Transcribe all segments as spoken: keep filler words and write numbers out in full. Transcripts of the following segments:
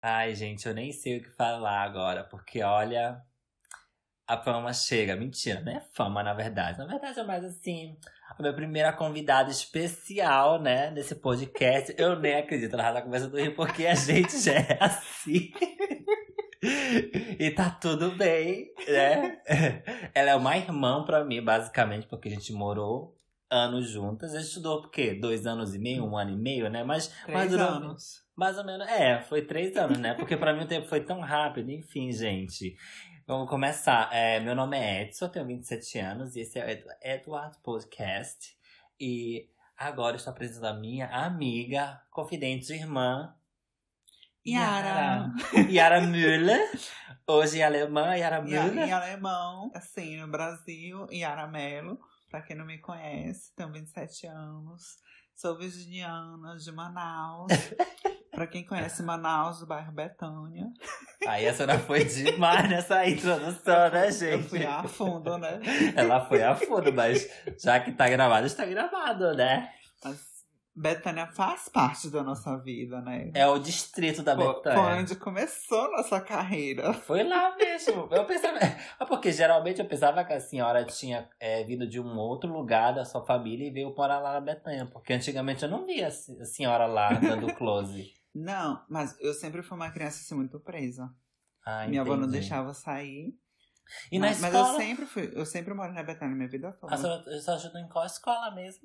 Ai, gente, eu nem sei o que falar agora, porque olha, a fama chega. Mentira, não é fama, na verdade. Na verdade, é mais assim, a minha primeira convidada especial, né, nesse podcast. Eu nem acredito, ela já tá começando a rir, porque a gente já é assim. E tá tudo bem, né? Ela é uma irmã pra mim, basicamente, porque a gente morou anos juntas. A gente estudou por quê? Dois anos e meio, um ano e meio, né? Mas, mas Três durou anos. mais ou menos. É, foi três anos, né? Porque pra mim o tempo foi tão rápido. Enfim, gente. Vamos começar. É, meu nome é Edson, eu tenho vinte e sete anos e esse é o Edu- Eduardo Podcast. E agora eu estou apresentando a minha amiga, confidente, irmã, Yara. Yara Müller. Hoje em alemã, Yara E, a- Müller. em alemão, assim, no Brasil, Yara Mello. Pra quem não me conhece, tenho vinte e sete anos. Sou virginiana de Manaus. Pra quem conhece Manaus, do bairro Betânia. Aí a senhora foi demais nessa introdução, né, Eu gente? fui a fundo, né? Ela foi a fundo, mas já que tá gravado, está gravado, né? Mas Betânia faz parte da nossa vida, né? É o distrito da Foi, foi Betânia. onde começou nossa carreira. Foi lá mesmo. Eu pensava. Ah, porque geralmente eu pensava que a senhora tinha é, vindo de um outro lugar da sua família e veio morar lá na Betânia. Porque antigamente eu não via a se- a senhora lá dando close. Não, mas eu sempre fui uma criança assim, muito presa. Ah, Minha avó não entendi. deixava eu sair. E na mas, mas escola? eu sempre fui, eu sempre moro na Betânia minha vida toda. A senhora só ajudou em qual escola mesmo?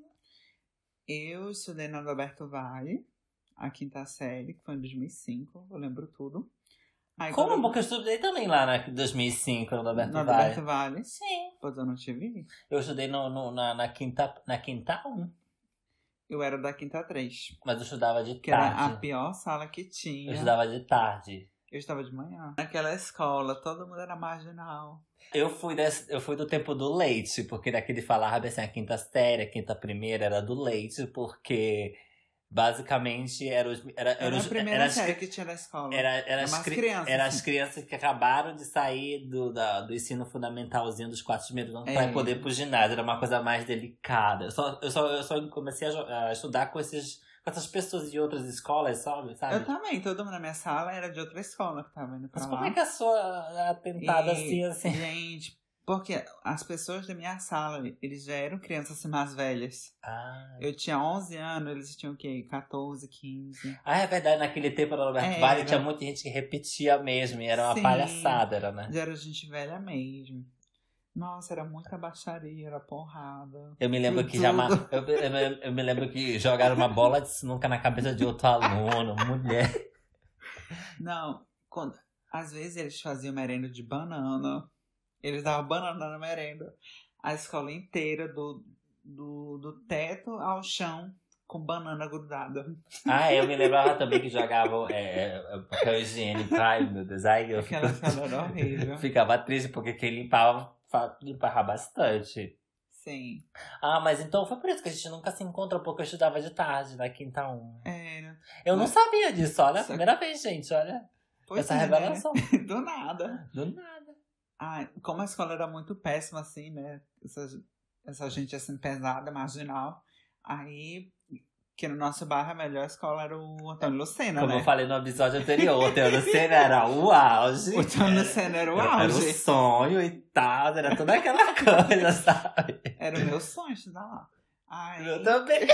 Eu estudei na Alberto Vale, a quinta série, que foi em dois mil e cinco, eu lembro tudo. Aí, Como? quando Porque eu estudei também lá na dois mil e cinco, no eu, Alberto na Vale. Alberto Vale, Sim. pois eu não te vi. Eu estudei no, no- na, na quinta na quinta um, Eu era da quinta três, mas eu estudava de que era a tarde. pior sala que Eu tinha. estudava de tarde. Eu estava de manhã. Naquela escola, todo mundo era marginal. Eu fui, desse, eu fui do tempo do leite, porque daquele falava assim, a quinta série, a quinta primeira era do leite, porque basicamente era os, era, era, Era os, a primeira era as, série que tinha na escola. era, era, Era as, mais cri- crianças, era as assim. crianças que acabaram de sair do, da, do ensino fundamentalzinho dos quatro primeiros anos É. para poder ir pro ginásio. Era uma coisa mais delicada. Eu só, eu só, eu só comecei a, jo- a estudar com, esses, com essas pessoas de outras escolas, sabe? sabe? Eu também, todo mundo na minha sala era de outra escola que tava indo pra Mas lá. como é que a sua atentada assim, E, assim? Gente, porque as pessoas da minha sala, eles já eram crianças assim, mais velhas. Ah, Eu tinha onze anos, eles tinham o quê? catorze, quinze. Ah, é verdade, naquele tempo no Alberto Era. Vale tinha muita gente que repetia mesmo, e era uma Sim. palhaçada, era, né? Já era gente velha mesmo. Nossa, era muita baixaria, era porrada. Eu me lembro Tudo. que já ma- eu, eu, eu- eu me lembro que jogaram uma bola de sinuca na cabeça de outro aluno, mulher. Não, quando, às vezes eles faziam merenda de banana. Eles davam banana na merenda. A escola inteira, do, do, do teto ao chão, com banana grudada. Ah, eu me lembrava também que jogavam é, é, papel higiênico. Ai, meu Deus, ai, eu Aquela escola era horrível. ficava triste porque quem limpava, fa- limpava bastante. Sim, Ah, mas então foi por isso que a gente nunca se encontrou, porque eu estudava de tarde na quinta um. era. Eu não Mas- sabia disso, olha, a Só- primeira vez, gente, olha. Pois Essa é, revelação. né? Do nada. Do nada. Ai, como a escola era muito péssima, assim, né? Essa, essa gente, assim, pesada, marginal. Aí, que no nosso bairro a melhor escola era o Antônio Lucena, Como né? eu falei no episódio anterior, o Antônio Lucena era o auge. O Antônio Lucena era o Era, era o auge. sonho e tal, era toda aquela coisa, sabe? Era o meu sonho estudar lá. Ai, Eu também.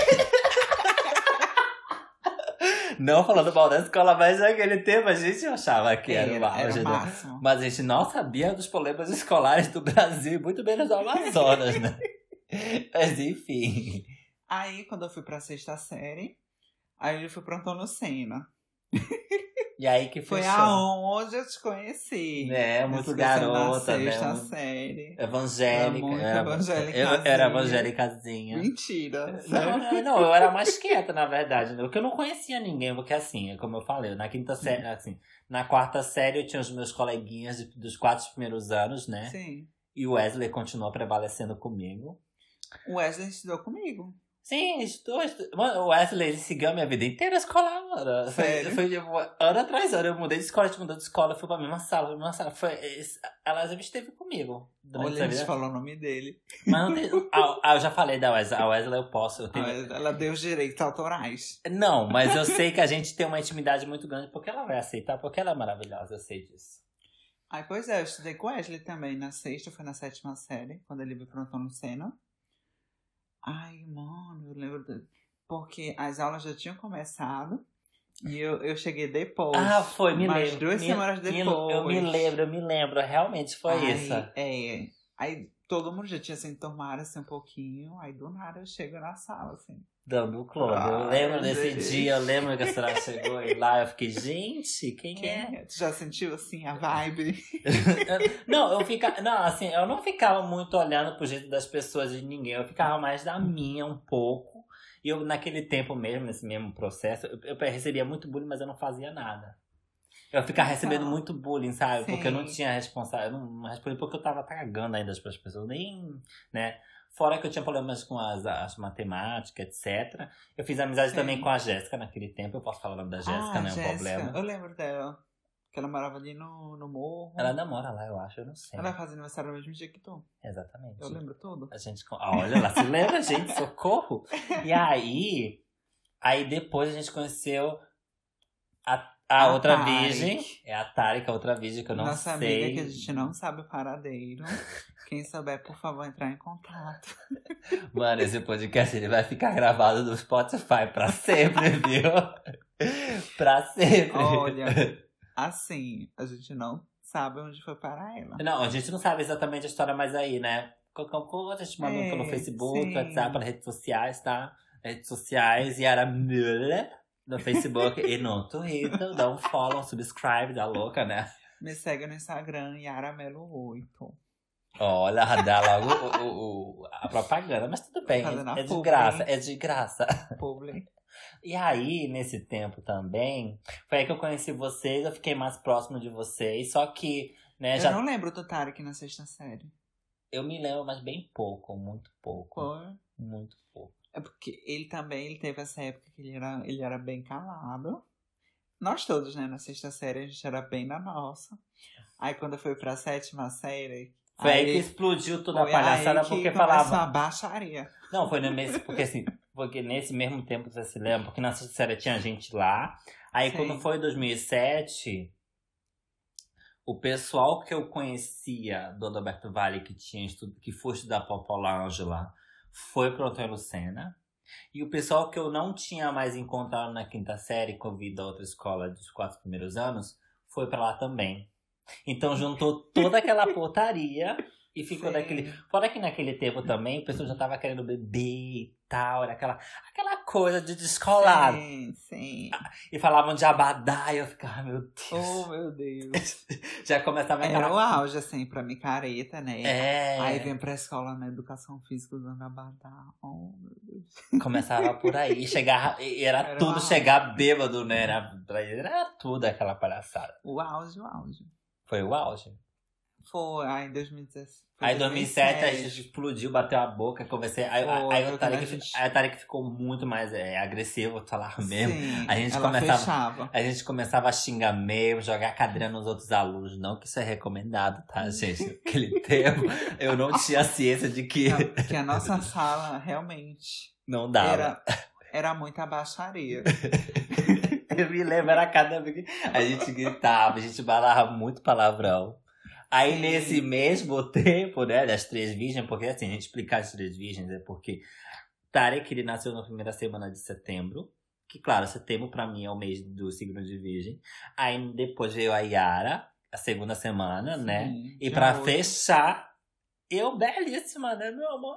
Não falando mal da escola, mas naquele tempo a gente achava que era, o era, auge. era o né? máximo. Mas a gente não sabia dos problemas escolares do Brasil, muito menos do Amazonas, né? Mas enfim. Aí, quando eu fui pra sexta série, aí eu fui pro Antônio Lucena. E aí que Foi fechou. aonde eu te conheci. Né, muito Nesse crescendo garota, na né? sexta Muito série. Evangélica. Era muito era, evangélicazinha. eu era evangélicazinha. Mentira. Não, sério. não, não, eu era mais quieta, na verdade. Porque eu não conhecia ninguém, porque assim, como eu falei, na quinta série, assim, na quarta série eu tinha os meus coleguinhas de- dos quatro primeiros anos, né? Sim. E o Wesley continuou prevalecendo comigo. O Wesley estudou comigo. Sim, estou, estou. Mano, o Wesley, ele seguiu a minha vida inteira a escola, mano. Foi, Sério? foi tipo, ano atrás ano. Eu mudei de escola, a gente mudou de escola, fui pra mesma sala, pra mesma sala. Foi, esse- ela sempre esteve comigo durante Olha, essa a gente vida. falou o nome dele. Mas não tem. Ah, ah, eu já falei da Wesley. A Wesley eu posso. Eu tenho... Ah, ela deu os direitos autorais. Não, mas eu sei que a gente tem uma intimidade muito grande porque ela vai aceitar, porque ela é maravilhosa, eu sei disso. Ai, pois é, eu estudei com o Wesley também na sexta, foi na sétima série, quando ele veio pro Antônio Senna. Ai, mano, eu lembro. de- Porque as aulas já tinham começado e eu, eu cheguei depois. Ah, foi, me mais lembro. duas Me- semanas me- depois. Eu me lembro, eu me lembro. Realmente foi Aí, isso. É. Aí todo mundo já tinha se enturmado assim um pouquinho. Aí do nada eu chego na sala, assim. Dando o clone. Eu Ai, lembro desse gente. dia, eu lembro que a senhora chegou e lá eu fiquei, gente, quem, Quem é? é? Tu já sentiu assim a vibe? Não, eu ficava. Não, assim, eu não ficava muito olhando pro jeito das pessoas de ninguém. Eu ficava mais da minha um pouco. E eu, naquele tempo mesmo, nesse mesmo processo, eu, eu recebia muito bullying, mas eu não fazia nada. Eu ficava recebendo Não. muito bullying, sabe? Porque eu não Sim. tinha responsável. Eu não respondi porque eu tava cagando ainda para as pessoas. Nem, né? Fora que eu tinha problemas com as, as matemáticas, etcétera. Eu fiz amizade Sim. também com a Jéssica naquele tempo. Eu posso falar o nome da Jéssica, ah, não é um Jéssica. problema. Eu lembro dela. Que ela morava ali no, no morro. Ela namora lá, eu acho, eu não sei. Ela faz aniversário no mesmo dia que tu. Exatamente. Eu lembro tudo. A gente. Ah, olha, ela se lembra, gente, socorro! E aí. Aí depois a gente conheceu a, a, A outra Tarek. virgem. É a Tarek, a outra virgem que eu não Nossa sei. amiga que a gente não sabe o paradeiro. Quem souber, por favor, entrar em contato. Mano, esse podcast ele vai ficar gravado no Spotify pra sempre, viu? Pra sempre. Olha, assim, a gente não sabe onde foi parar ela. Não, a gente não sabe exatamente a história mais aí, né? Qualquer coisa a gente manda É, pelo Facebook, sim. WhatsApp, pelas redes sociais, tá? Redes sociais, Yara Müller no Facebook e no Twitter. Dá um follow, um subscribe, dá louca, né? Me segue no Instagram, Yara Melo oito. Olha, dá logo o, o- o- a propaganda, mas tudo bem, Fazendo a é de publi. graça, é de graça. Publi. E aí, nesse tempo também, foi aí que eu conheci vocês, eu fiquei mais próximo de vocês, só que, né, Eu já não lembro do Tarek na sexta série. eu me lembro, mas bem pouco, muito pouco, Foi. muito pouco. É porque ele também ele teve essa época que ele era, ele era bem calado. Nós todos, né? Na sexta série a gente era bem na nossa. Aí quando foi pra sétima série. Foi aí, que explodiu toda a foi palhaçada, aí que porque começou falava... a baixaria. Não, foi nesse, porque assim, porque nesse mesmo tempo, você se lembra, porque na sexta série tinha gente lá, aí Sim. quando foi em dois mil e sete... O pessoal que eu conhecia do Adalberto Vale, que tinha estudo, que foi estudar Popular Ângela, foi pro Antônio Lucena. E o pessoal que eu não tinha mais encontrado na quinta série, que eu vi da outra escola dos quatro primeiros anos, foi pra lá também. Então juntou toda aquela portaria e ficou Sim. daquele... Fora que naquele tempo também, o pessoal já tava querendo beber e tal, era aquela, aquela coisa de descolado. Sim, sim. E falavam de abadá, e eu ficava, meu Deus. Oh, meu Deus. Já começava Era o aquela... auge, assim, pra micareta, né? É, Aí vem pra escola na educação física usando abadá. Oh, meu Deus. começava por aí. E chegava, e era, Era tudo o auge. chegar bêbado, né? Era, pra ele era tudo aquela palhaçada. O auge, o auge. Foi o auge. Foi, aí em dois mil e dezessete. foi Aí em dois mil e sete a gente explodiu, bateu a boca, conversei. Aí, Foi, aí, foi o Tarek, quando a gente- aí o Tarek ficou muito mais é, agressivo, vou falar mesmo. Sim, A gente ela começava- fechava. A gente começava a xingar mesmo, jogar cadeira nos outros alunos. Não que isso é recomendado, tá, gente? Naquele tempo, eu não tinha ciência de que Não, porque a nossa sala realmente não dava. era, era muita baixaria. Eu me lembro, era cada vez que a gente gritava, a gente balava muito palavrão. Aí, Sim. nesse mesmo tempo, né, das Três Virgens, porque assim, a gente explicar as Três Virgens é porque Tarek, ele nasceu na primeira semana de setembro, que claro, setembro pra mim é o mês do signo de Virgem. Aí depois veio a Yara, a segunda semana, né? Sim, E já pra hoje. fechar, eu belíssima, né, meu amor?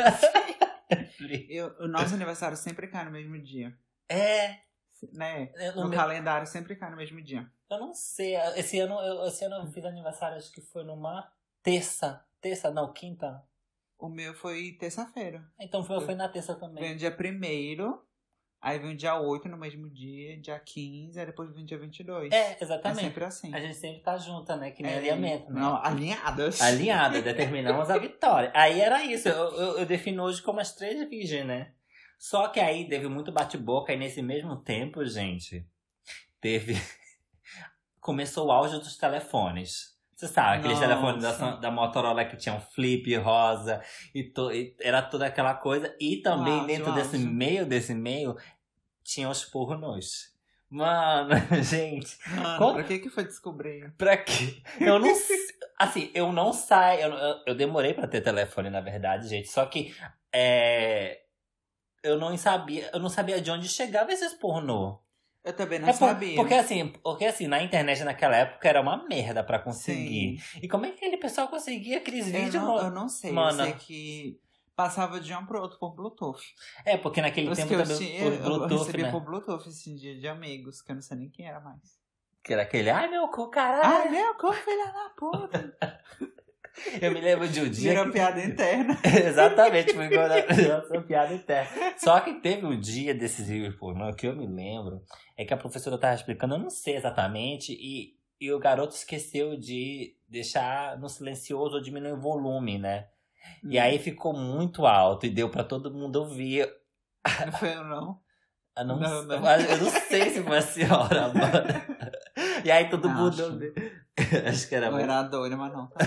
Eu, o nosso aniversário sempre cai no mesmo dia. É, Né? eu, no No meu- calendário sempre cai no mesmo dia. eu não sei, esse ano, eu, esse ano eu fiz aniversário, acho que foi numa terça, terça não, quinta. O meu foi terça-feira. Então foi, foi na terça também. Vem o dia primeiro, aí vem o dia oito no mesmo dia, dia quinze, aí depois vem o dia vinte e dois. É, É exatamente. sempre assim. A gente sempre tá junta, né? Que nem É, alinhamento, né? Não, alinhadas. Alinhada, determinamos a vitória. Aí era isso, eu, eu, eu defino hoje como as três virgens, né? Só que aí teve muito bate-boca e nesse mesmo tempo, gente, teve... Começou o auge dos telefones. Você sabe, aqueles Nossa. telefones da, da Motorola que tinham flip rosa e, to, e era toda aquela coisa. E também O auge, dentro o desse auge. meio, desse meio, tinha os pornôs. Mano, gente, Mano, Qual- pra que que foi descobrir? pra quê? Eu não sei. Assim, eu não saio. Eu, eu, eu demorei pra ter telefone, na verdade, gente. Só que é, eu não sabia, eu não sabia de onde chegava esses pornô. Eu também não É por- sabia. porque assim, porque assim, na internet naquela época era uma merda pra conseguir. Sim. E como é que aquele pessoal conseguia aqueles Eu vídeos? não, no- eu não sei, Mano. eu sei que passava de um pro outro por Bluetooth. É, porque naquele Os tempo que eu também tinha, o eu Bluetooth, recebia né? por Bluetooth esse dia de amigos, que eu não sei nem quem era mais. Que era aquele, ai meu cu, caralho. Ai, meu, como filha da puta! Eu me lembro de um dia. Virou que- piada interna. Exatamente, foi igual a nossa piada interna. Só que teve um dia desses vídeos pornô que eu me lembro, é que a professora tava explicando, eu não sei exatamente, e, e o garoto esqueceu de deixar no silencioso ou diminuir o volume, né? E aí ficou muito alto e deu pra todo mundo ouvir. Não foi eu, não. Eu não, Não, não. eu não sei se foi a senhora, mano. E aí todo Acho. mundo ouviu. Acho que era Eu muito. era doida, mas não. Tá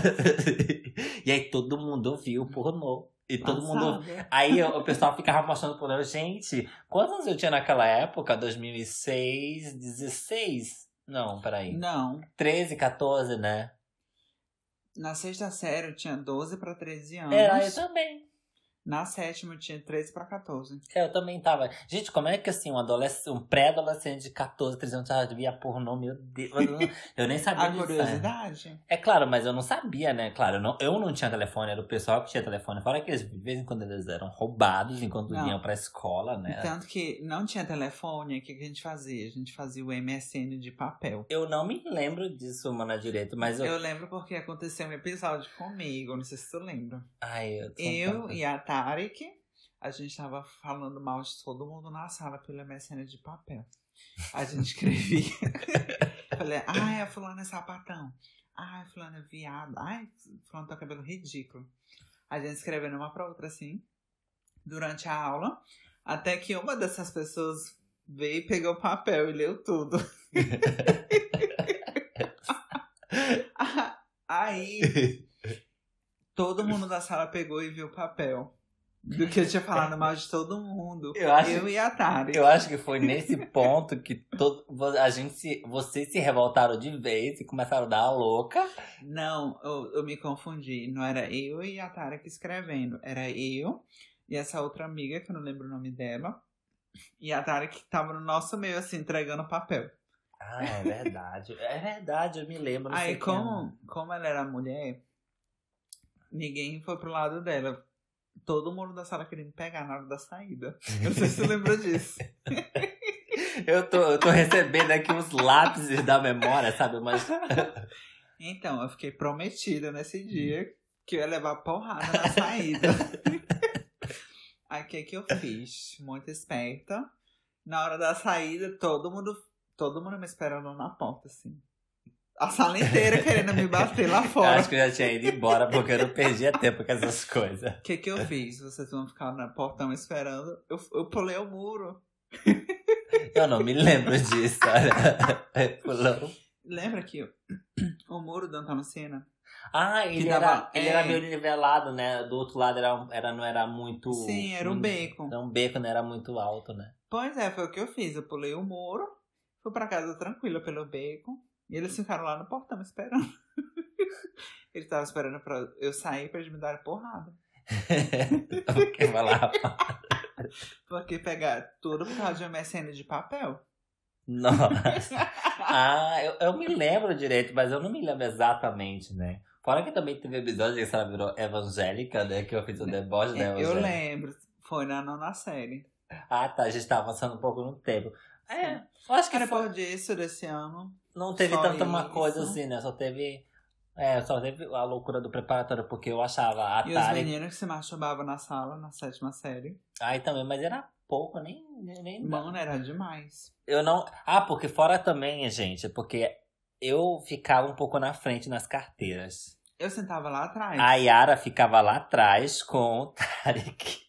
E aí todo mundo ouviu o pornô. E todo mundo. passada. Aí o o pessoal ficava mostrando pornô. Gente, quantos anos eu tinha naquela época? dois mil e seis, dezesseis? Não, peraí. Não. treze, quatorze, né? Na sexta série eu tinha doze pra treze anos. Era, eu também. Na sétima eu tinha treze pra quatorze. Eu também tava. Gente, como é que assim, um adolescente, um pré-adolescente de quatorze, treze anos já via pornô? Meu Deus. Eu, não- eu nem sabia A disso. curiosidade. É claro, mas eu não sabia, né? Claro, eu não, eu não tinha telefone, era o pessoal que tinha telefone. Fora que eles, de vez em quando eles eram roubados enquanto Não. iam pra escola, né? Tanto que não tinha telefone, o que que a gente fazia? A gente fazia o M S N de papel. Eu não me lembro disso, mano, direito, mas eu. Eu lembro porque aconteceu um episódio comigo, não sei se tu lembra. Ai, eu. tô Eu tão- e a Tarek, a gente tava falando mal de todo mundo na sala pelo M S N de papel. A gente escrevia. Falei, ai, a fulana é sapatão. Ai, fulana é viado. Ai, fulana tem cabelo ridículo. A gente escrevendo uma pra outra assim, durante a aula, até que uma dessas pessoas veio e pegou o papel e leu tudo. Aí, todo mundo da sala pegou e viu o papel. Do que eu tinha falado mal de todo mundo. Eu acho- eu e a Tari. Eu acho que foi nesse ponto que todo, a gente se, vocês se revoltaram de vez e começaram a dar a louca. Não, eu, eu me confundi. Não era eu e a Tari que escrevendo. Era eu e essa outra amiga, que eu não lembro o nome dela. E a Tari que tava no nosso meio, assim, entregando o papel. Ah, é verdade. É verdade, eu me lembro. não sei Aí, quem era. como, como ela era mulher, ninguém foi pro lado dela. Todo mundo da sala queria me pegar na hora da saída. Eu não sei se você lembra disso. Eu tô, eu tô recebendo aqui uns lápis da memória, sabe? Mas. Então, eu fiquei prometida nesse dia que eu ia levar porrada na saída. Aí, o que que eu fiz? Muito esperta. Na hora da saída, todo mundo, todo mundo me esperando na porta, assim. A sala inteira querendo me bater lá Eu fora. acho que eu já tinha ido embora porque eu não perdia tempo com essas coisas. O que que eu fiz? Vocês vão ficar no portão esperando. Eu, eu pulei o muro. Eu não me lembro disso, olha. Pulou. Lembra que o, o muro do Antônio Senna? Ah, ele, Que era, dava- ele é. era meio nivelado, né? Do outro lado era, era, não era muito. Sim, era um beco. Era um beco, não era muito alto, né? Pois é, foi o que eu fiz. Eu pulei o muro, fui pra casa tranquila pelo beco. E eles ficaram lá no portão me esperando. Eles estavam esperando pra eu sair pra eles me darem porrada. Porque vai lá. Porque pegar tudo por causa de um M S N de papel. Nossa. Ah, eu, eu me lembro direito, mas eu não me lembro exatamente, né? Fora que também teve episódio que ela virou evangélica, né? Que eu fiz o deboche da É, eu evangélica. lembro. Foi na nona série. Ah, tá. A gente tava avançando um pouco no tempo. É, eu acho que Cara, foi, depois disso, desse ano. não teve só tanta uma isso. coisa assim, né? Só teve... É, só teve a loucura do preparatório, porque eu achava a E os Atari... meninos que se masturbavam na sala, na sétima série. Aí também, mas era pouco, nem... nem Mano, era demais. Eu não... Ah, porque fora também, gente, porque eu ficava um pouco na frente nas carteiras. Eu sentava lá atrás. A Yara ficava lá atrás com o Tarek.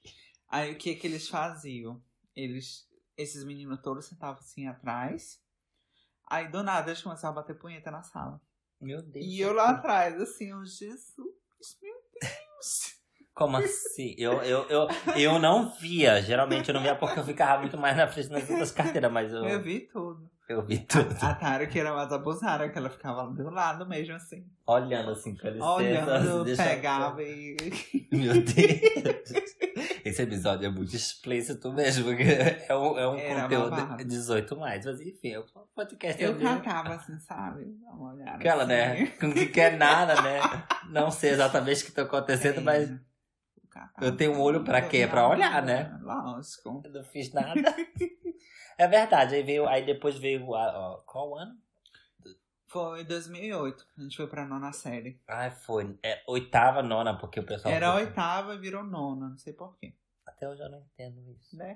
Aí o que que eles faziam? Eles, esses meninos todos sentavam assim atrás. Aí do nada eles começavam a bater punheta na sala. Meu Deus. E eu lá atrás, assim, oh Jesus, meu Deus. Como assim? Eu, eu, eu, eu não via. Geralmente eu não via porque eu ficava muito mais na frente das outras carteiras, mas eu... Eu vi tudo. Eu vi tudo. A, a Tara que era mais abusada, que ela ficava do lado mesmo, assim. Olhando assim, com licença. Olhando, deixa... pegava e... Meu Deus. Esse episódio é muito explícito mesmo, porque é um, é um conteúdo dezoito mais. Mas enfim, é um podcast. Eu cantava assim, sabe? Dá uma olhada. Aquela, assim. né? Com que quer nada, né? Não sei exatamente o que tá acontecendo, é. mas... Eu tenho um olho pra quê? Pra olhar, né? Lógico. Eu não fiz nada. É verdade. Aí veio, aí depois veio, ó, qual ano? Foi em dois mil e oito. A gente foi pra nona série. Ai, foi. É, oitava, nona, porque o pessoal... Era foi... oitava e virou nona. Não sei porquê. Até hoje eu não entendo isso. Né?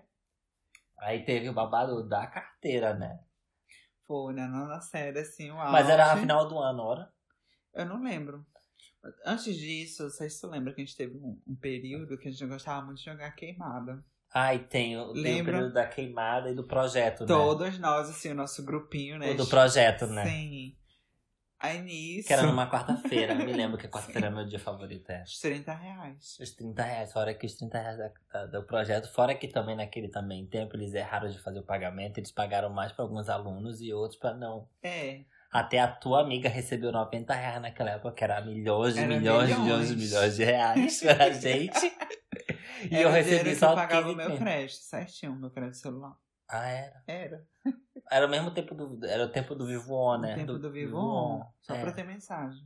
Aí teve o babado da carteira, né? Foi na nona série, assim, o auge. Mas era a final do ano, ora? Eu não lembro. Antes disso, não sei se tu lembra que a gente teve um, um período que a gente gostava muito de jogar queimada. Ai, tem o, tem o período da queimada e do projeto, né? Todos nós, assim, o nosso grupinho, né? O do projeto, né? Sim. Aí nisso... Que era numa quarta-feira. Me lembro que a quarta-feira é meu dia favorito. É. Os trinta reais. Os trinta reais. Fora que os trinta reais da, da, do projeto. Fora que também naquele também tempo eles erraram de fazer o pagamento. Eles pagaram mais para alguns alunos e outros para não. É. Até a tua amiga recebeu noventa reais naquela época, que era milhões e era milhões, milhões, milhões e milhões de reais pra gente. E era eu recebi só que eu pagava o meu mesmo. crédito, certinho, o meu crédito celular. Ah, era? Era. Era o mesmo tempo do... Era o tempo do Vivo On, né? O tempo do, do Vivo On. Só é. pra ter mensagem.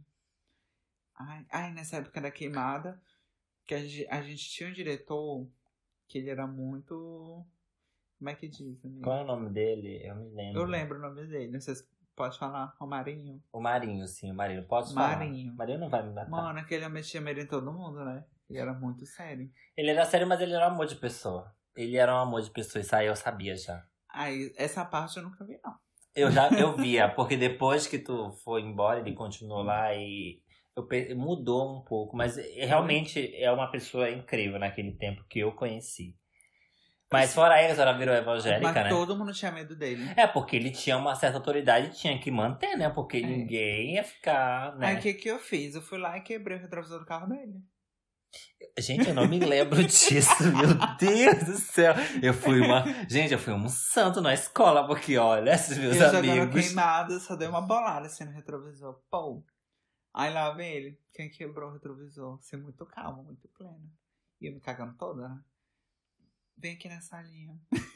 Ai, ai, nessa época da queimada, que a gente, a gente tinha um diretor que ele era muito... Como é que diz, amigo? Qual é o nome dele? Eu me lembro. Eu lembro o nome dele. Não sei se pode falar. O Marinho. O Marinho, sim. O Marinho. Pode falar. Marinho. O Marinho não vai me matar. Mano, aquele homem tinha medo em todo mundo, né? Ele era muito sério. Ele era sério, mas ele era um amor de pessoa. Ele era um amor de pessoa. Isso aí eu sabia já. Aí, essa parte eu nunca vi, não. Eu já eu via, porque depois que tu foi embora, ele continuou lá e eu, mudou um pouco. Mas realmente é uma pessoa incrível naquele tempo que eu conheci. Mas fora ele, ela virou evangélica, mas né? Mas todo mundo tinha medo dele. É, porque ele tinha uma certa autoridade e tinha que manter, né? Porque é. ninguém ia ficar, né? Aí o que que eu fiz? Eu fui lá e quebrei o retrovisor do carro dele. Gente, eu não me lembro disso, meu Deus do céu. Eu fui uma... Gente, eu fui um santo na escola, porque olha, esses meus eu amigos... Eu jogando queimado, só dei uma bolada assim no retrovisor. Pô. Aí lá vem ele. Quem quebrou o retrovisor? Você é muito calmo, muito pleno. E eu me cagando toda, né? Vem aqui na salinha.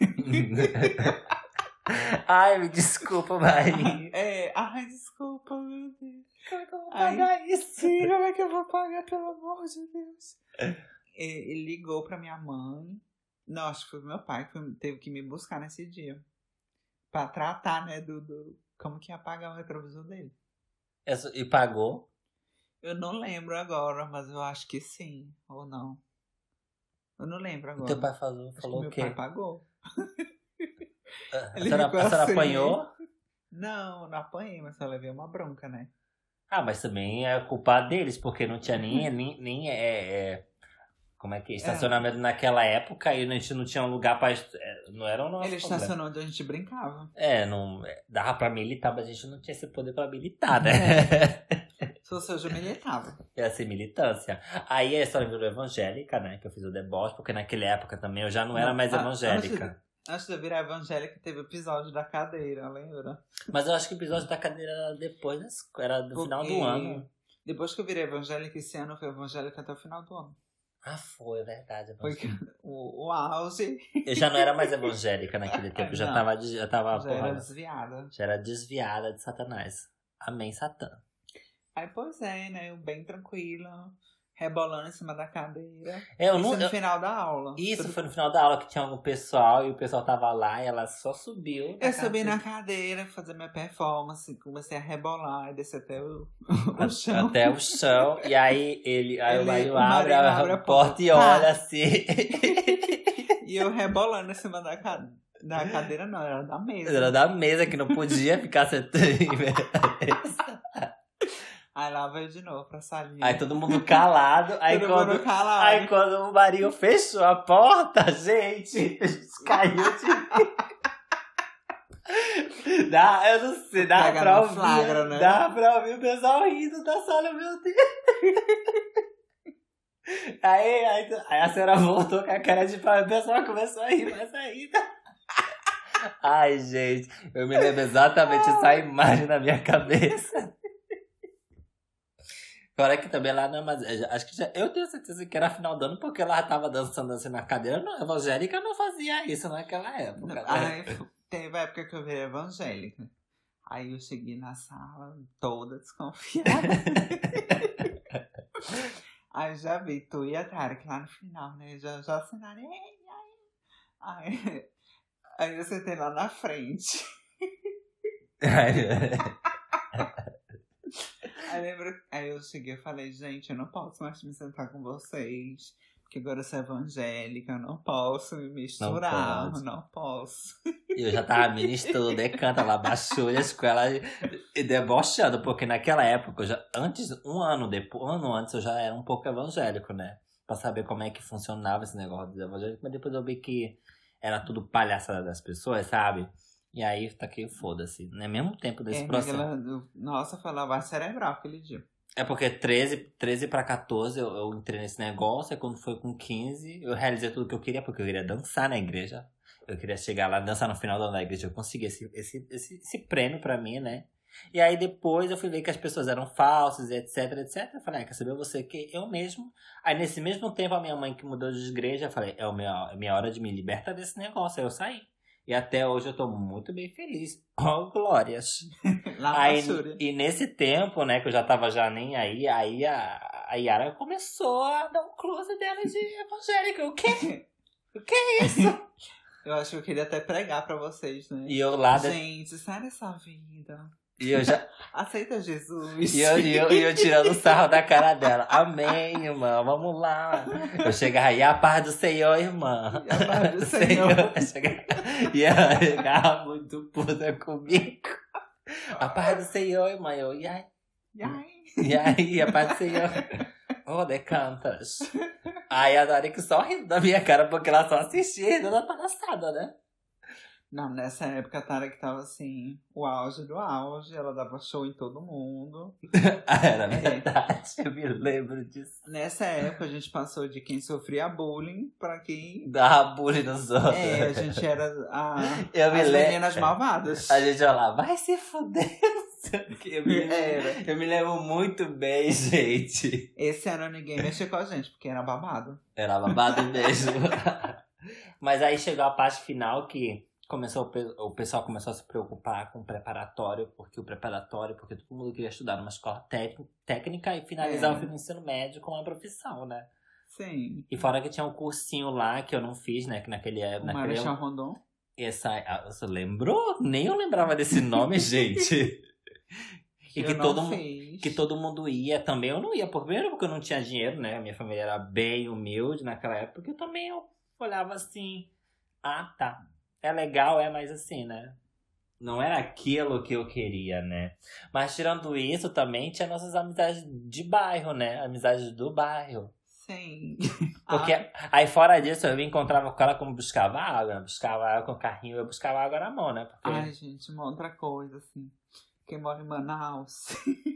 Ai, me desculpa, Marinho. É, ai, desculpa, meu Deus. Como é que eu vou pagar ai, isso? Sim, como é que eu vou pagar, pelo amor de Deus? Ele ligou pra minha mãe. Não, acho que foi meu pai que teve que me buscar nesse dia. Pra tratar, né, do... do como que ia pagar o retrovisor dele. E pagou? Eu não lembro agora, mas eu acho que sim, ou não. Eu não lembro agora. O teu pai falou, falou o quê? Meu pai pagou. A senhora, a senhora assim, apanhou? Não, não apanhei, mas só levei uma bronca, né? Ah, mas também é culpa deles, porque não tinha nem, nem, nem é, é, como é que é? Estacionamento é. naquela época e a gente não tinha um lugar pra... Não era o nosso Ele problema. estacionou onde a gente brincava. É, não, dava pra militar, mas a gente não tinha esse poder pra militar, né? É. Se fosse hoje, eu militava. Ia ser militância. Aí a história virou evangélica, né? Que eu fiz o deboche, porque naquela época também eu já não era não, mais evangélica. Antes de, antes de eu virar evangélica, teve o episódio da cadeira, lembra? Mas eu acho que o episódio da cadeira era depois, era do porque final do ano. Depois que eu virei evangélica, esse ano eu fui evangélica até o final do ano. Ah, foi, é verdade. Foi o, o auge. Eu já não era mais evangélica naquele tempo, já tava, já tava já porra, era desviada. Já era desviada de Satanás. Amém, Satã. Aí, pois é, né? Eu bem tranquilo, rebolando em cima da cadeira. É, eu isso não, no eu... final da aula. Isso, foi no final da aula que tinha algum pessoal e o pessoal tava lá e ela só subiu. Eu cadeira. subi na cadeira, fazer minha performance, comecei a rebolar e descer até o, o chão. Até o chão. E aí ele, aí ele, o Marinho abre, abre a, a porta e olha assim. E eu rebolando em cima da cadeira. Da cadeira não, era da mesa. Era da mesa que não podia ficar sentando. Aí lá veio de novo pra salinha. Aí todo mundo calado. Aí, Todo quando, mundo calado. aí quando o Marinho fechou a porta, gente, caiu de... Dá, eu não sei, dá Pega pra no ouvir. flagra, né? Dá pra ouvir o pessoal rindo da sala, meu Deus. Aí, aí, aí a senhora voltou com a cara de pau e o pessoal começou a rir mais ainda. Ai, gente, eu me lembro exatamente essa imagem na minha cabeça. Fora que também lá na Amazônia, acho que já, eu tenho certeza que era final do ano, porque ela tava dançando assim na cadeira. Não, evangélica não fazia isso naquela época. Né? Aí teve a época que eu virei evangélica. Aí eu cheguei na sala toda desconfiada. Aí já vi tu e a Tara, que lá no final, né? Já, já assinaram. Aí, aí eu sentei lá na frente. Aí, lembro, aí eu cheguei e falei, gente, eu não posso mais me sentar com vocês, porque agora eu sou evangélica, eu não posso me misturar, não, não posso. E eu já tava ministrando, decanta lá, baixou a escola e, e debochando, porque naquela época, eu já, antes, um ano depois, um ano antes, eu já era um pouco evangélico, né? Pra saber como é que funcionava esse negócio dos evangélicos, mas depois eu vi que era tudo palhaçada das pessoas, sabe? E aí, tá aqui, foda-se. No mesmo tempo desse é, processo. Ela, nossa, foi lavagem cerebral aquele dia. É porque treze, treze pra catorze eu, eu entrei nesse negócio, e quando foi com quinze, eu realizei tudo que eu queria, porque eu queria dançar na igreja. Eu queria chegar lá, dançar no final da igreja. Eu consegui esse, esse, esse, esse prêmio pra mim, né? E aí depois eu fui ver que as pessoas eram falsas, etc, etcétera. Eu falei, ah, quer saber você que eu mesmo... Aí nesse mesmo tempo a minha mãe que mudou de igreja, eu falei, é a minha, é minha hora de me libertar desse negócio. Aí eu saí. E até hoje eu tô muito bem feliz. Oh, glórias. Aí, e nesse tempo, né, que eu já tava já nem aí, aí a, a Yara começou a dar um close dela de evangélica. O quê? O que é isso? Eu acho que eu queria até pregar pra vocês, né? E eu lá... Gente, sai dessa vida. E eu já... Aceita Jesus. E eu, e, eu, e eu tirando sarro da cara dela. Amém, irmã. Vamos lá. Eu chegava aí, a paz do Senhor, irmã. E a paz do Senhor. E ela chegava muito puta comigo. A paz do Senhor, irmã. Eu, e aí? E aí? E aí, a paz do Senhor. Oh, decantas. Aí a Dori que só rindo da minha cara, porque ela só assistia rindo da palhaçada, né? Não, nessa época a Tara que tava assim, o auge do auge, ela dava show em todo mundo. Era verdade, é. Eu me lembro disso. Nessa época a gente passou de quem sofria bullying pra quem... Dava bullying nos outros. É, a gente era a, eu as me meninas malvadas. A gente olha lá, vai se fuder, não sei o que. Eu me, lembro, eu me lembro muito bem, gente. Esse ano ninguém mexia com a gente, porque era babado. Era babado mesmo. Mas aí chegou a parte final que... Começou, o pessoal começou a se preocupar com o preparatório, porque o preparatório, porque todo mundo queria estudar numa escola técnica e finalizar é. o ensino médio com uma profissão, né? Sim. E fora que tinha um cursinho lá que eu não fiz, né? Que naquele O naquele Marechal Rondon. Essa, você lembrou? Nem eu lembrava desse nome, gente. E eu que não todo, fiz. que todo mundo ia também. Eu não ia, primeiro porque eu não tinha dinheiro, né? A minha família era bem humilde naquela época. Porque eu também eu olhava assim, ah, tá. É legal, é, mas assim, né? Não era aquilo que eu queria, né? Mas tirando isso, também tinha nossas amizades de bairro, né? Amizades do bairro. Sim. Porque ah. aí fora disso, eu me encontrava com ela como buscava água. Buscava água com o carrinho, eu buscava água na mão, né? Porque... Ai, gente, uma outra coisa, assim. Quem mora em Manaus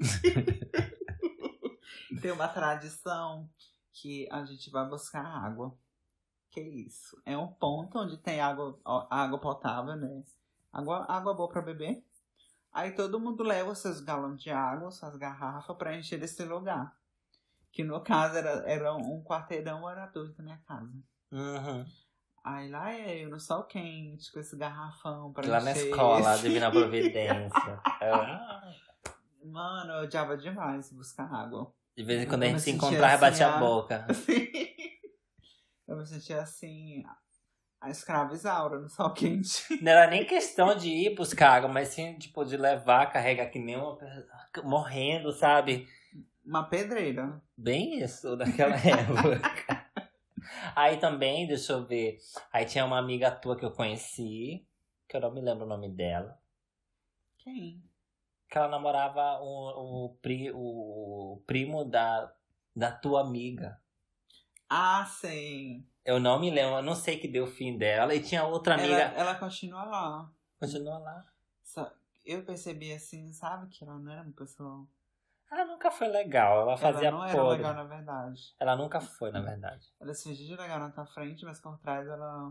tem uma tradição que a gente vai buscar água. Que isso? É um ponto onde tem água, água potável, né? Água, água boa pra beber. Aí todo mundo leva os seus galões de água, suas garrafas pra encher desse lugar. Que no caso era, era um quarteirão, era dois da minha casa. Uhum. Aí lá é eu no sol quente, com esse garrafão pra lá encher. Lá na escola, esse... Divina Providência. Mano, eu odiava demais buscar água. De vez em quando a gente se encontrava e batia a boca. Eu me sentia assim, a escrava Isaura no sol quente. Não era nem questão de ir buscar água, mas sim, tipo, de levar, carregar que nem uma... morrendo, sabe? Uma pedreira. Bem isso, naquela época. Aí também, deixa eu ver, aí tinha uma amiga tua que eu conheci, que eu não me lembro o nome dela. Quem? Que ela namorava o, o, pri, o primo da, da tua amiga. Ah, sim. Eu não me lembro, eu não sei que deu o fim dela. E tinha outra amiga. Ela, ela continua lá. Continua lá. Só, eu percebi assim, sabe, que ela não era uma pessoa... Ela nunca foi legal, ela fazia Ela não era podre. legal, na verdade. Ela nunca foi, na verdade. Ela se fingia de legal na tua frente, mas por trás ela...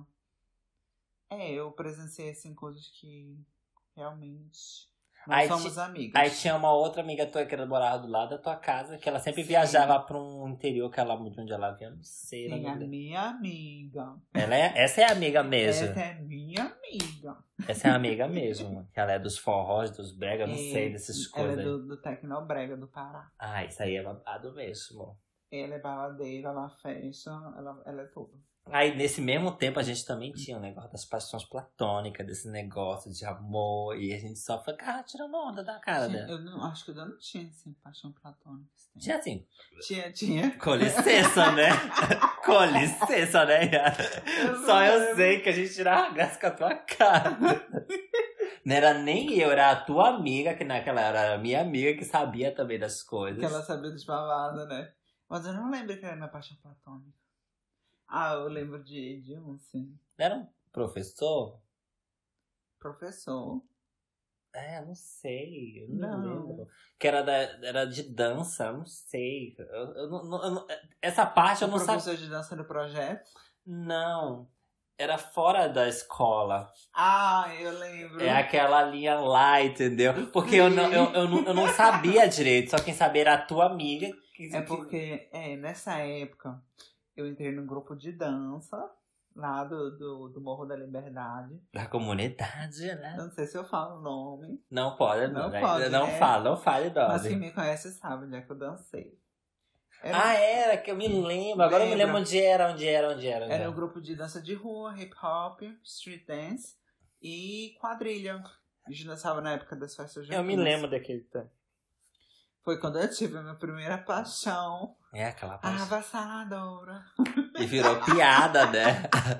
É, eu presenciei, assim, coisas que realmente... Nós Aí somos ti- amigas. Aí tinha uma outra amiga tua que era morava do lado da tua casa, que ela sempre Sim. viajava pra um interior que ela, de onde ela vinha, não sei. Sim, não a lembro. minha amiga. Ela é, essa é a amiga mesmo. Essa é minha amiga. Essa é a amiga mesmo. Que ela é dos forrós, dos brega, eu não É, sei dessas ela coisas. é aí. do, do Tecnobrega do Pará. Ah, isso aí é babado mesmo. Ela é baladeira, ela fecha, ela, ela é tudo. Aí, nesse mesmo tempo, a gente também tinha o negócio das paixões platônicas, desse negócio de amor, e a gente só ficava tirando onda da cara Tinha- dela. eu não, acho que eu não tinha, assim, paixão platônica. assim. Tinha assim, Tinha, tinha. com licença, né? Com licença, né? Eu Só não eu lembro. sei que a gente tirava graça com a tua cara. Não era nem eu, era a tua amiga, que naquela era a minha amiga, que sabia também das coisas. Que ela sabia dos babados, né? Mas eu não lembro que era minha paixão platônica. Ah, eu lembro de, de um, sim. Era um professor? Professor. É, não sei, eu não, Não. lembro. Que era, da, era de dança, eu não sei. Eu, eu não- não- eu não- essa parte eu O não sabia. professor de dança do projeto. Não, era fora da escola. Ah, eu lembro. É aquela linha lá, entendeu? Porque eu não, eu, eu, não, eu não sabia direito, só quem sabia era a tua amiga. Que, É que- porque, é, nessa época, eu entrei num grupo de dança, lá do, do, do Morro da Liberdade. Da comunidade, né? Eu não sei se eu falo o nome, Não pode, Não não. né? pode, não né? fala, não fale mas quem nome. me conhece sabe onde é que eu dancei. Era, Ah, era, que eu me lembro. Agora eu me Lembra? lembro onde era, onde era, onde era. Onde era era. um grupo de dança de rua, hip hop, street dance e quadrilha. A gente dançava na época das festas Eu me juninas. lembro daquele tempo. Foi quando eu tive a minha primeira paixão. É aquela parte. Avassaladora. E virou piada, né?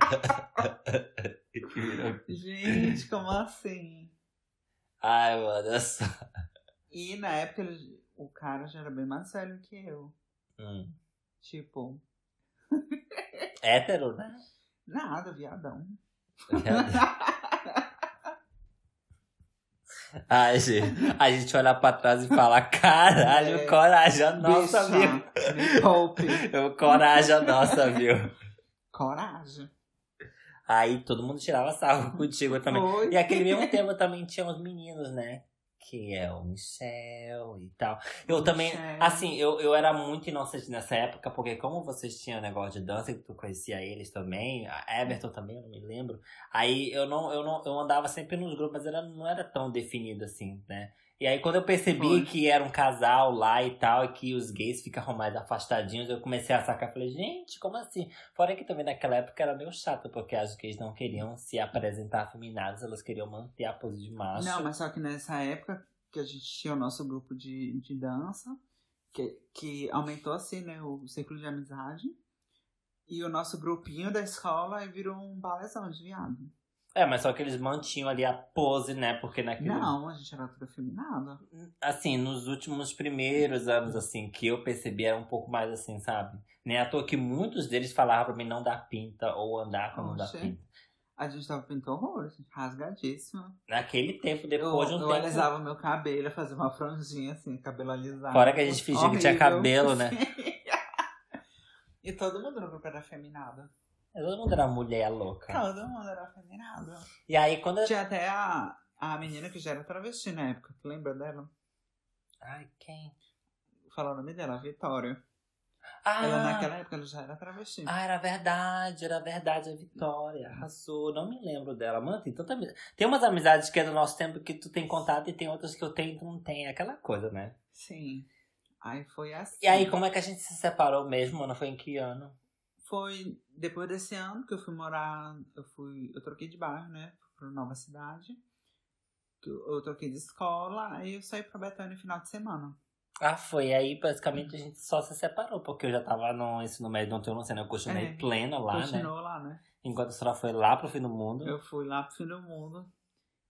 E virou- Gente, como assim? Ai, mano, eu só... E na época ele- o cara já era bem mais velho que eu. Hum. Tipo, Hétero, né? nada, viadão. Ai, gente, a gente olha pra trás e fala, caralho, É. coragem nossa, Bicha, viu? me poupe. Eu, coragem nossa, viu? Coragem. Aí todo mundo tirava sarro contigo também. Foi. E aquele mesmo tempo também tinha os meninos, né? Que é o Michel e tal. Eu também, Michel. assim, eu, eu era muito inocente nessa época, porque como vocês tinham negócio de dança, que tu conhecia eles também, a Everton também, eu não me lembro. Aí eu não, eu não, eu andava sempre nos grupos, mas era, não era tão definido assim, né? E aí quando eu percebi Foi. que era um casal lá e tal, e que os gays ficavam mais afastadinhos, eu comecei a sacar, falei, gente, como assim? Fora que também naquela época era meio chato, porque as gays não queriam se apresentar afeminadas, elas queriam manter a pose de macho. Não, mas só que nessa época que a gente tinha o nosso grupo de, de dança, que, que aumentou assim, né, o círculo de amizade. E o nosso grupinho da escola aí virou um balezão de viado. É, mas só que eles mantinham ali a pose, né? Porque naquele... Não, a gente era tudo afeminado. Assim, nos últimos primeiros anos, assim, que eu percebi era um pouco mais assim, sabe? Nem à toa que muitos deles falavam pra mim não dar pinta ou andar com não dar Oxe. pinta. A gente tava pintando horrores, rasgadíssimo. Naquele tempo, Eu, depois de um eu tempo... alisava meu cabelo, fazia uma franjinha assim, cabelo alisado. Fora que a gente fingia que tinha Horrível. cabelo, né? E todo mundo no grupo era afeminado. Todo mundo era mulher louca. Todo mundo era afeminado. E aí, quando... eu- Tinha até a, a menina que já era travesti na época. Tu lembra dela? Ai, quem? Fala o nome dela, a Vitória. Ah, Ela naquela época ela já era travesti. ah, era verdade, era verdade, a Vitória. Arrasou, não me lembro dela. Mano, tem tanta amizade. Tem umas amizades que é do nosso tempo que tu tem contato e tem outras que eu tenho e tu não tem. É aquela coisa, né? Sim. Aí foi assim. E aí, como é que a gente se separou mesmo, mano? Foi em que ano? Foi depois desse ano que eu fui morar. Eu fui. Eu troquei de bairro, né? Fui pra nova cidade. Que Eu, eu troquei de escola. Aí eu saí pra Betânia no final de semana. Ah, foi. Aí, basicamente, a gente só se separou, porque eu já tava no ensino médio, não tenho noção, eu continuei É, pleno lá, né? Continuou lá, né? Enquanto a senhora foi lá pro fim do mundo. Eu fui lá pro fim do mundo.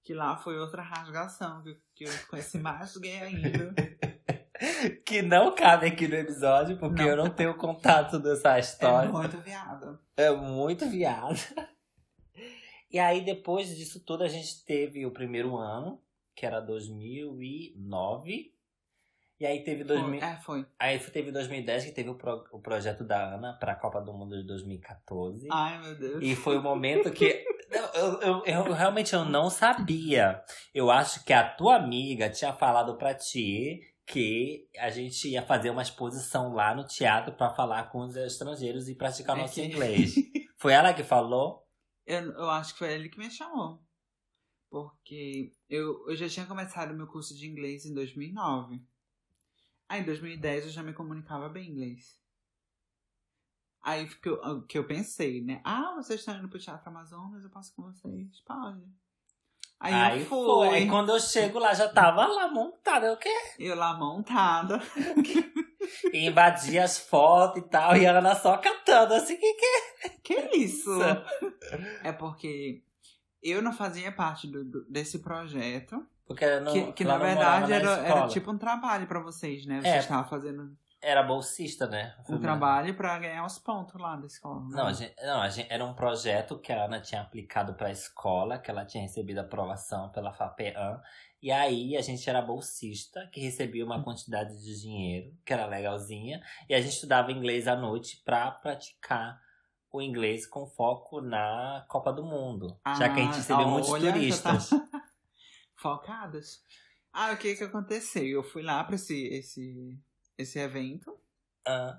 Que lá foi outra rasgação, que, que eu conheci mais gay ainda. Que não cabe aqui no episódio, porque Não. eu não tenho contato dessa história. É muito viada. É muito viado. E aí, depois disso tudo, a gente teve o primeiro ano, que era dois mil e nove. E aí teve dois mil... Foi, é, foi. Aí teve dois mil e dez, que teve o, pro... o projeto da Ana pra Copa do Mundo de dois mil e quatorze. Ai, meu Deus. E foi o momento que... Eu, eu, eu realmente eu não sabia. Eu acho que a tua amiga tinha falado pra ti que a gente ia fazer uma exposição lá no teatro pra falar com os estrangeiros e praticar É nosso que- inglês. Foi ela que falou? Eu, eu acho que foi ele que me chamou. Porque eu, eu já tinha começado meu curso de inglês em dois mil e nove. Aí em dois mil e dez eu já me comunicava bem inglês. Aí que eu, que eu pensei, né? Ah, vocês estão indo pro Teatro Amazonas, eu passo com vocês. Pode. Aí, Aí eu foi. fui. Aí quando eu chego lá, já tava lá montada. Eu quê? Eu lá montada. E invadi as fotos e tal. E a Ana só catando assim. Que que Que é isso? É porque eu não fazia parte do, do- desse projeto. Porque não, Que, que ela na não morava verdade na era, era escola. tipo um trabalho pra vocês, né? Vocês É. estavam fazendo Era bolsista, né? um trabalho pra ganhar os pontos lá da escola. né? Não, a gente, não a gente, era um projeto que a Ana tinha aplicado pra escola, que ela tinha recebido aprovação pela FAPEAM. E aí a gente era bolsista, que recebia uma quantidade de dinheiro, que era legalzinha. E a gente estudava inglês à noite pra praticar o inglês com foco na Copa do Mundo. já que a gente Ah, recebeu muitos olha, já turistas. tá focadas. Ah, o que que aconteceu? Eu fui lá pra esse, esse, esse evento Ah,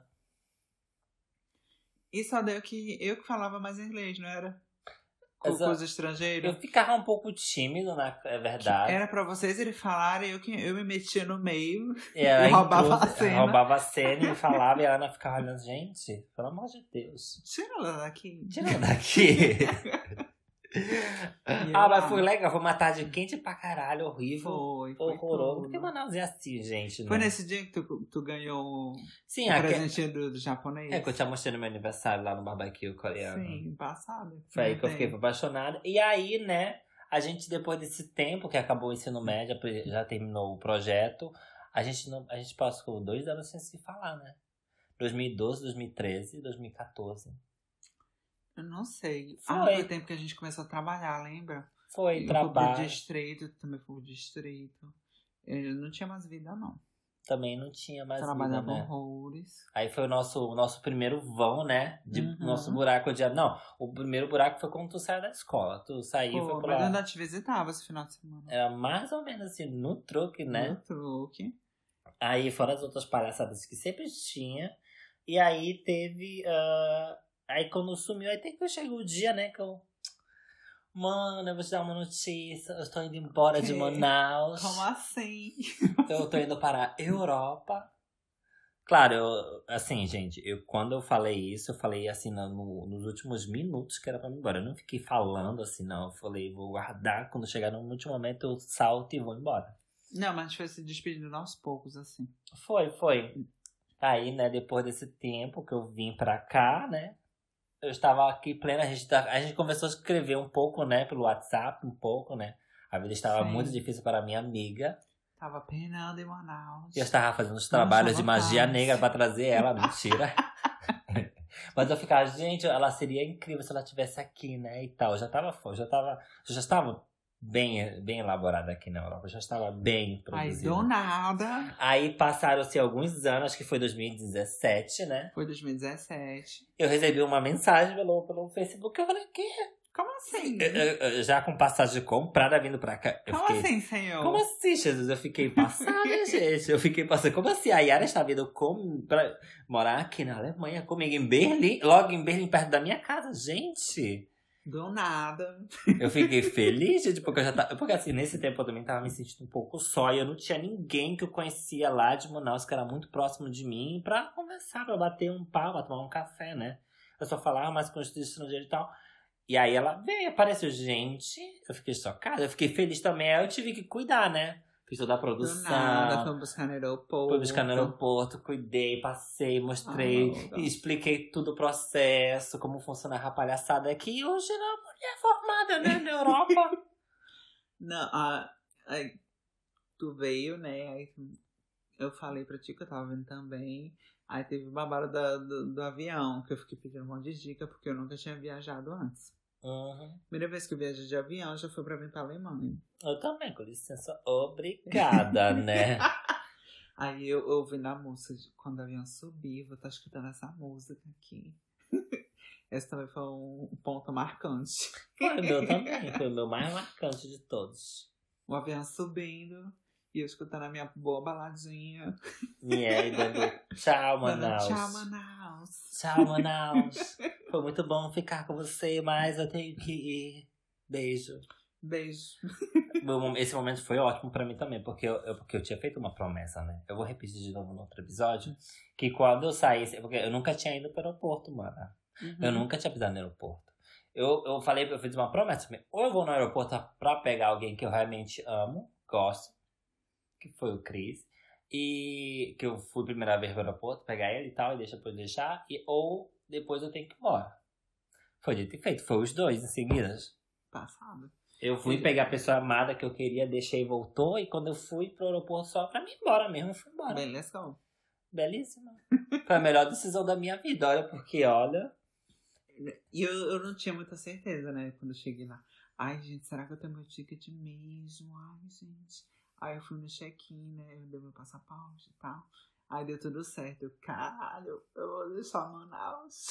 e só deu que eu que falava mais inglês, não era? Com, Exato. com os estrangeiros. eu ficava um pouco tímido, na, é verdade. Era pra vocês eles falarem, eu, que, eu me metia no meio. E ela Eu roubava intrusa- a cena. roubava a cena e falava, e a Ana ficava olhando, gente, pelo amor de Deus. Tira ela daqui. Tira ela daqui. E eu Ah, mas lá. foi legal, foi uma tarde quente pra caralho, horrível, Foi, foi horroroso. tudo. Porque Manaus é assim, gente. Foi né? nesse dia que tu, tu ganhou Sim, o aque- presentinho do, do japonês? é que eu te mostrei no meu aniversário lá no barbecue coreano. Sim, passado. Foi aí que eu fiquei apaixonada. E aí, né, a gente, depois desse tempo que acabou o ensino médio, já terminou o projeto, a gente, não, a gente passou dois anos sem se falar, né? dois mil e doze, dois mil e treze, dois mil e quatorze. Eu não sei. Foi. Ah, foi o tempo que a gente começou a trabalhar, lembra? Foi, Eu fui trabalho. pro distrito, também fui pro distrito. Eu não tinha mais vida, não. Também não tinha mais vida, Trabalhava né? horrores. Aí foi o nosso, o nosso primeiro vão, né? De Uhum. nosso buraco de... Não, o primeiro buraco foi quando tu saiu da escola. Tu saiu e Pô, foi pra mas eu lá. ainda te visitava esse final de semana. Era mais ou menos assim, no truque, né? No truque. Aí fora as outras palhaçadas que sempre tinha. E aí teve... ah, Aí quando sumiu, aí tem que chegou o dia, né? Que eu... Mano, eu vou te dar uma notícia. Eu estou indo embora de Que? Manaus. Como assim? Eu tô indo para a Europa. Claro, eu, assim, gente, eu, quando eu falei isso, eu falei assim no- no- nos últimos minutos que era pra mim ir embora. Eu não fiquei falando assim, não. Eu falei, vou guardar. Quando chegar no último momento, eu salto e vou embora. Não, mas a gente foi se despedindo aos poucos, assim. Foi, foi. Aí, né, depois desse tempo que eu vim pra cá, né? Eu estava aqui plena, a gente, tá- a gente começou a escrever um pouco, né, pelo WhatsApp, um pouco, né? A vida estava Sim. muito difícil para minha amiga. Tava penando em Manaus. E eu estava fazendo os trabalhos de Nossa, magia rapaz. negra pra trazer ela, mentira. Mas eu ficava, gente, ela seria incrível se ela estivesse aqui, né? E tal. Eu já tava, eu já tava, eu já estava bem, bem elaborada aqui na Europa. Eu já estava bem Aí, produzida. do nada. Aí passaram-se alguns anos, acho que foi dois mil e dezessete, né? Foi dois mil e dezessete. Eu recebi uma mensagem pelo, pelo Facebook. Eu falei, que? Como assim? Eu- eu- eu já com passagem comprada vindo pra cá. Eu Como fiquei, assim, senhor? Como assim, Jesus? Eu fiquei passada, gente. Eu fiquei passando. Como assim? A Yara está vindo com... pra morar aqui na Alemanha comigo em Berlim? Logo em Berlim, perto da minha casa. Gente, Do nada. eu fiquei feliz, gente, porque eu já tava... Porque assim, nesse tempo eu também tava me sentindo um pouco só. E eu não tinha ninguém que eu conhecia lá de Manaus, que era muito próximo de mim, pra conversar, pra bater um papo, pra tomar um café, né? Eu só falava mais com os estrangeiros e tal. E aí ela veio, apareceu, gente, eu fiquei chocada, eu fiquei feliz também, aí eu tive que cuidar, né? Fiz toda a Do produção, nada. Fomos buscar no aeroporto. fui buscar no aeroporto, cuidei, passei, mostrei, Ah, legal. e expliquei tudo o processo, como funciona a palhaçada aqui. E hoje era uma mulher formada, né, na Europa. Não, a, aí tu veio, né? Aí eu falei pra ti que eu tava vendo também. Aí teve o babado da, do, do avião, que eu fiquei pedindo um monte de dica, porque eu nunca tinha viajado antes. Uhum. Primeira vez que eu viajei de avião, já foi pra vir pra Alemanha. Eu também, com licença, obrigada, né? Aí eu ouvi na música, quando o avião subir, vou estar escutando essa música aqui. Esse também foi um ponto marcante. Foi o meu também, foi o meu mais marcante de todos. O avião subindo e eu escutando a minha boa baladinha. E aí, dando tchau, Manaus. Tchau, Manaus. Tchau, Manaus. Foi muito bom ficar com você, mas eu tenho que ir. Beijo. Beijo. Esse momento foi ótimo pra mim também, porque eu, eu, porque eu tinha feito uma promessa, né? Eu vou repetir de novo no outro episódio, que quando eu saísse... Porque eu nunca tinha ido pro aeroporto, mano. Uhum. Eu nunca tinha pisado no aeroporto. Eu, eu falei, eu fiz uma promessa, ou eu vou no aeroporto pra pegar alguém que eu realmente amo, gosto, que foi o Chris, e que eu fui a primeira vez pro aeroporto, pegar ele e tal, e deixa depois deixar, e, ou depois eu tenho que ir embora. Foi dito e feito, foi os dois em seguida. Passado. Eu fui pegar a pessoa amada que eu queria, deixei e voltou, e quando eu fui pro aeroporto só pra mim ir embora mesmo, eu fui embora. Beleza. Belíssima. Foi a melhor decisão da minha vida, olha, porque olha... E eu, eu não tinha muita certeza, né, quando eu cheguei lá. Ai, gente, será que eu tenho meu ticket mesmo? Ai, gente... Aí eu fui no check-in, né? Eu dei meu passaporte e tal. Aí deu tudo certo. Eu, caralho, eu vou deixar Manaus.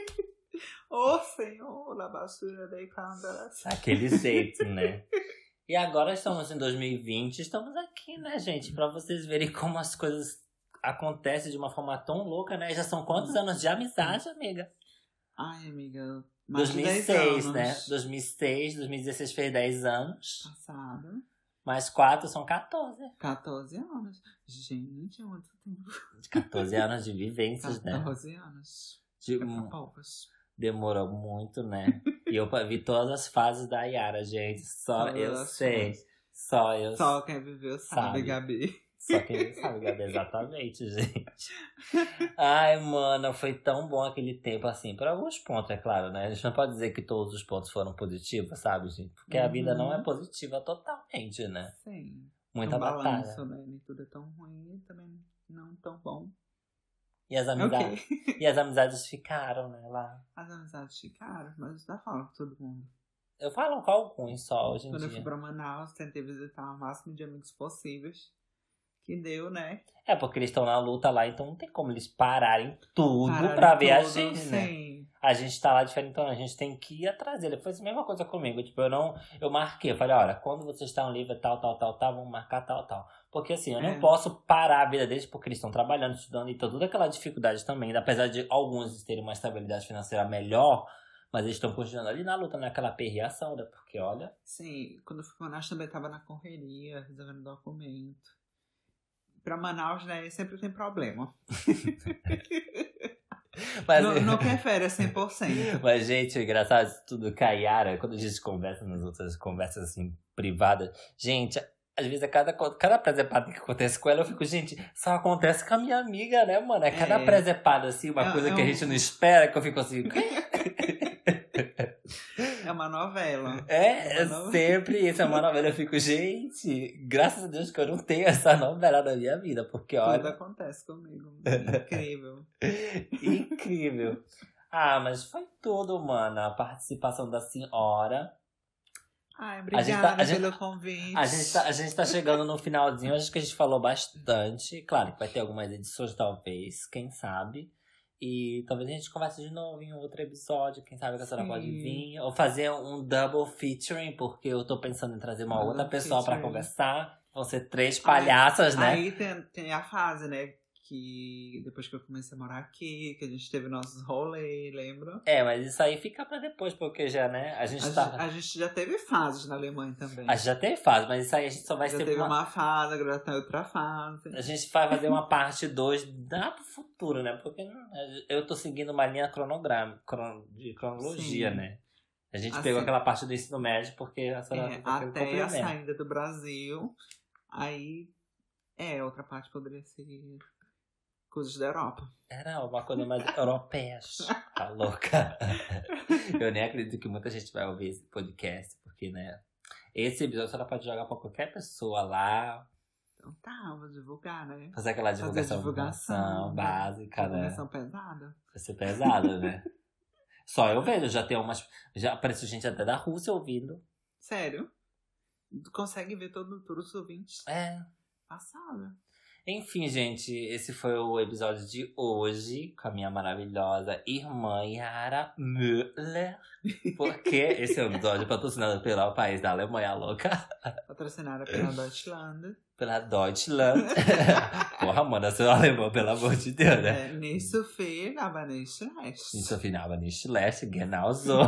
Ô, oh, Senhor, a basura daí câmera. Aquele jeito, né? E agora estamos em dois mil e vinte. Estamos aqui, né, gente? Pra vocês verem como as coisas acontecem de uma forma tão louca, né? Já são quantos anos de amizade, amiga? Ai, amiga... Mais dois mil e seis, né? dois mil e seis, dois mil e dezesseis fez dez anos. Passado. Mais quatro são quatorze. quatorze anos. Gente, é muito tempo. quatorze anos de vivências, né? quatorze anos. De, demorou muito, né? E eu vi todas as fases da Yara, gente. Só todas eu sei. Fases. Só eu Só quem viveu sabe, sabe, Gabi. Só quem sabe, Gabi, exatamente, gente. Ai, mano, foi tão bom aquele tempo, assim, por alguns pontos, é claro, né? A gente não pode dizer que todos os pontos foram positivos, sabe, gente? Porque uhum. a vida não é positiva totalmente, né? Sim. Muita um batalha. Balanço, né? Nem tudo é tão ruim e também não tão bom. E as amizades, okay. e as amizades ficaram, né, lá. As amizades ficaram, mas eu falo com todo mundo. Eu falo com alguns só, hoje em Quando dia. Quando eu fui pra Manaus, tentei visitar o máximo de amigos possíveis. Que deu, né? É, porque eles estão na luta lá, então não tem como eles pararem tudo Pararem pra ver tudo, a gente, sim. né? A gente tá lá diferente, então a gente tem que ir atrás dele. Foi a mesma coisa comigo, tipo, eu não... Eu marquei, eu falei, olha, quando vocês estão livres, tal, tal, tal, tal, vamos marcar tal, tal. Porque assim, eu não é. posso parar a vida deles, porque eles estão trabalhando, estudando, e então toda aquela dificuldade também, apesar de alguns terem uma estabilidade financeira melhor, mas eles estão continuando ali na luta, naquela perreação, né? Porque, olha... Sim, quando eu fui pra Manaus também tava na correria, resolvendo documento. Pra Manaus, né, sempre tem problema. Mas, não, não prefere cem por cento. Mas, gente, o engraçado de tudo com a Yara, quando a gente conversa nas outras conversas, assim, privadas, gente, às vezes, a cada, cada presepada que acontece com ela, eu fico, gente, só acontece com a minha amiga, né, mano? É cada é. presepada, assim, uma é, coisa é que um... a gente não espera, que eu fico assim... É uma novela. É, é novela. Sempre isso, é uma novela. Eu fico, gente, graças a Deus que eu não tenho essa novela na minha vida, porque olha... Tudo acontece comigo. Incrível. Incrível. Ah, mas foi tudo, mano. A participação da senhora. Ai, obrigada tá, pelo gente, convite. A gente, tá, a gente tá chegando no finalzinho, acho que a gente falou bastante. Claro que vai ter algumas edições, talvez, quem sabe. E talvez a gente converse de novo em outro episódio. Quem sabe que a senhora pode vir. Ou fazer um double featuring, porque eu tô pensando em trazer uma double outra pessoa featuring. Pra conversar. Vão ser três palhaças, aí, né? Aí tem, tem a fase, né? Que depois que eu comecei a morar aqui, que a gente teve nossos rolês, lembra? É, mas isso aí fica pra depois, porque já, né? A gente a, tá... a gente já teve fases na Alemanha também. A gente já teve fase, mas isso aí a gente só vai já ser... Já teve uma... uma fase, agora tá outra fase. A gente vai fazer uma parte dois da pro futuro, né? Porque eu tô seguindo uma linha cronograma, de cronologia, Sim. né? A gente assim, pegou aquela parte do ensino médio, porque a senhora... É, até a saída do Brasil, aí... É, outra parte poderia ser... Coisas da Europa. Era uma coisa mais europeia. Tá louca. Eu nem acredito que muita gente vai ouvir esse podcast, porque, né? Esse episódio ela pode jogar pra qualquer pessoa lá. Então tá, vou divulgar, né? Fazer aquela divulgação, Fazer divulgação divulgação básica, né? Divulgação pesada. Vai ser pesada, né? Só eu vejo, já tem umas. Já apareceu gente até da Rússia ouvindo. Sério? Tu consegue ver todo, todos os ouvintes? É. Passada. Enfim, gente, esse foi o episódio de hoje com a minha maravilhosa irmã Yara Müller. Porque esse é um episódio patrocinado pelo país da Alemanha louca. Patrocinada pela Deutschland. Pela Deutschland. Porra, manda seu alemão, pelo amor de Deus, né? É, nicht so viel, aber nicht schlecht. Nicht so viel, aber nicht schlecht, genau so.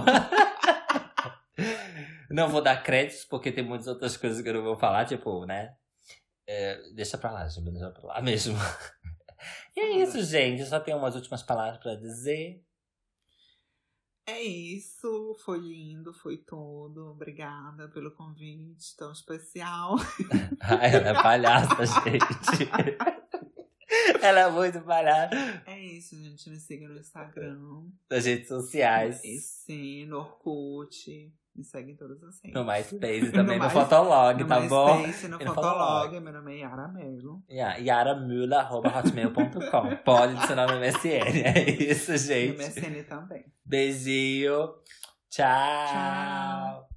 Não vou dar créditos, porque tem muitas outras coisas que eu não vou falar, tipo, né? É, deixa pra lá, gente, deixa pra lá mesmo. E é isso, gente. Eu só tenho umas últimas palavras pra dizer. É isso. Foi lindo, foi tudo. Obrigada pelo convite tão especial. Ai, ela é palhaça, gente. Ela é muito palhaça. É isso, gente. Me siga no Instagram. Nas redes sociais. E sim, no Orkut. Me segue em todas as redes. No MySpace também, no, no Fotolog, no tá MySpace, bom? No, e no Fotolog. Meu nome é Yara Melo. Yeah, yara müller arroba hotmail ponto com. Pode adicionar no M S N. É isso, gente. No M S N também. Beijinho. Tchau. Tchau.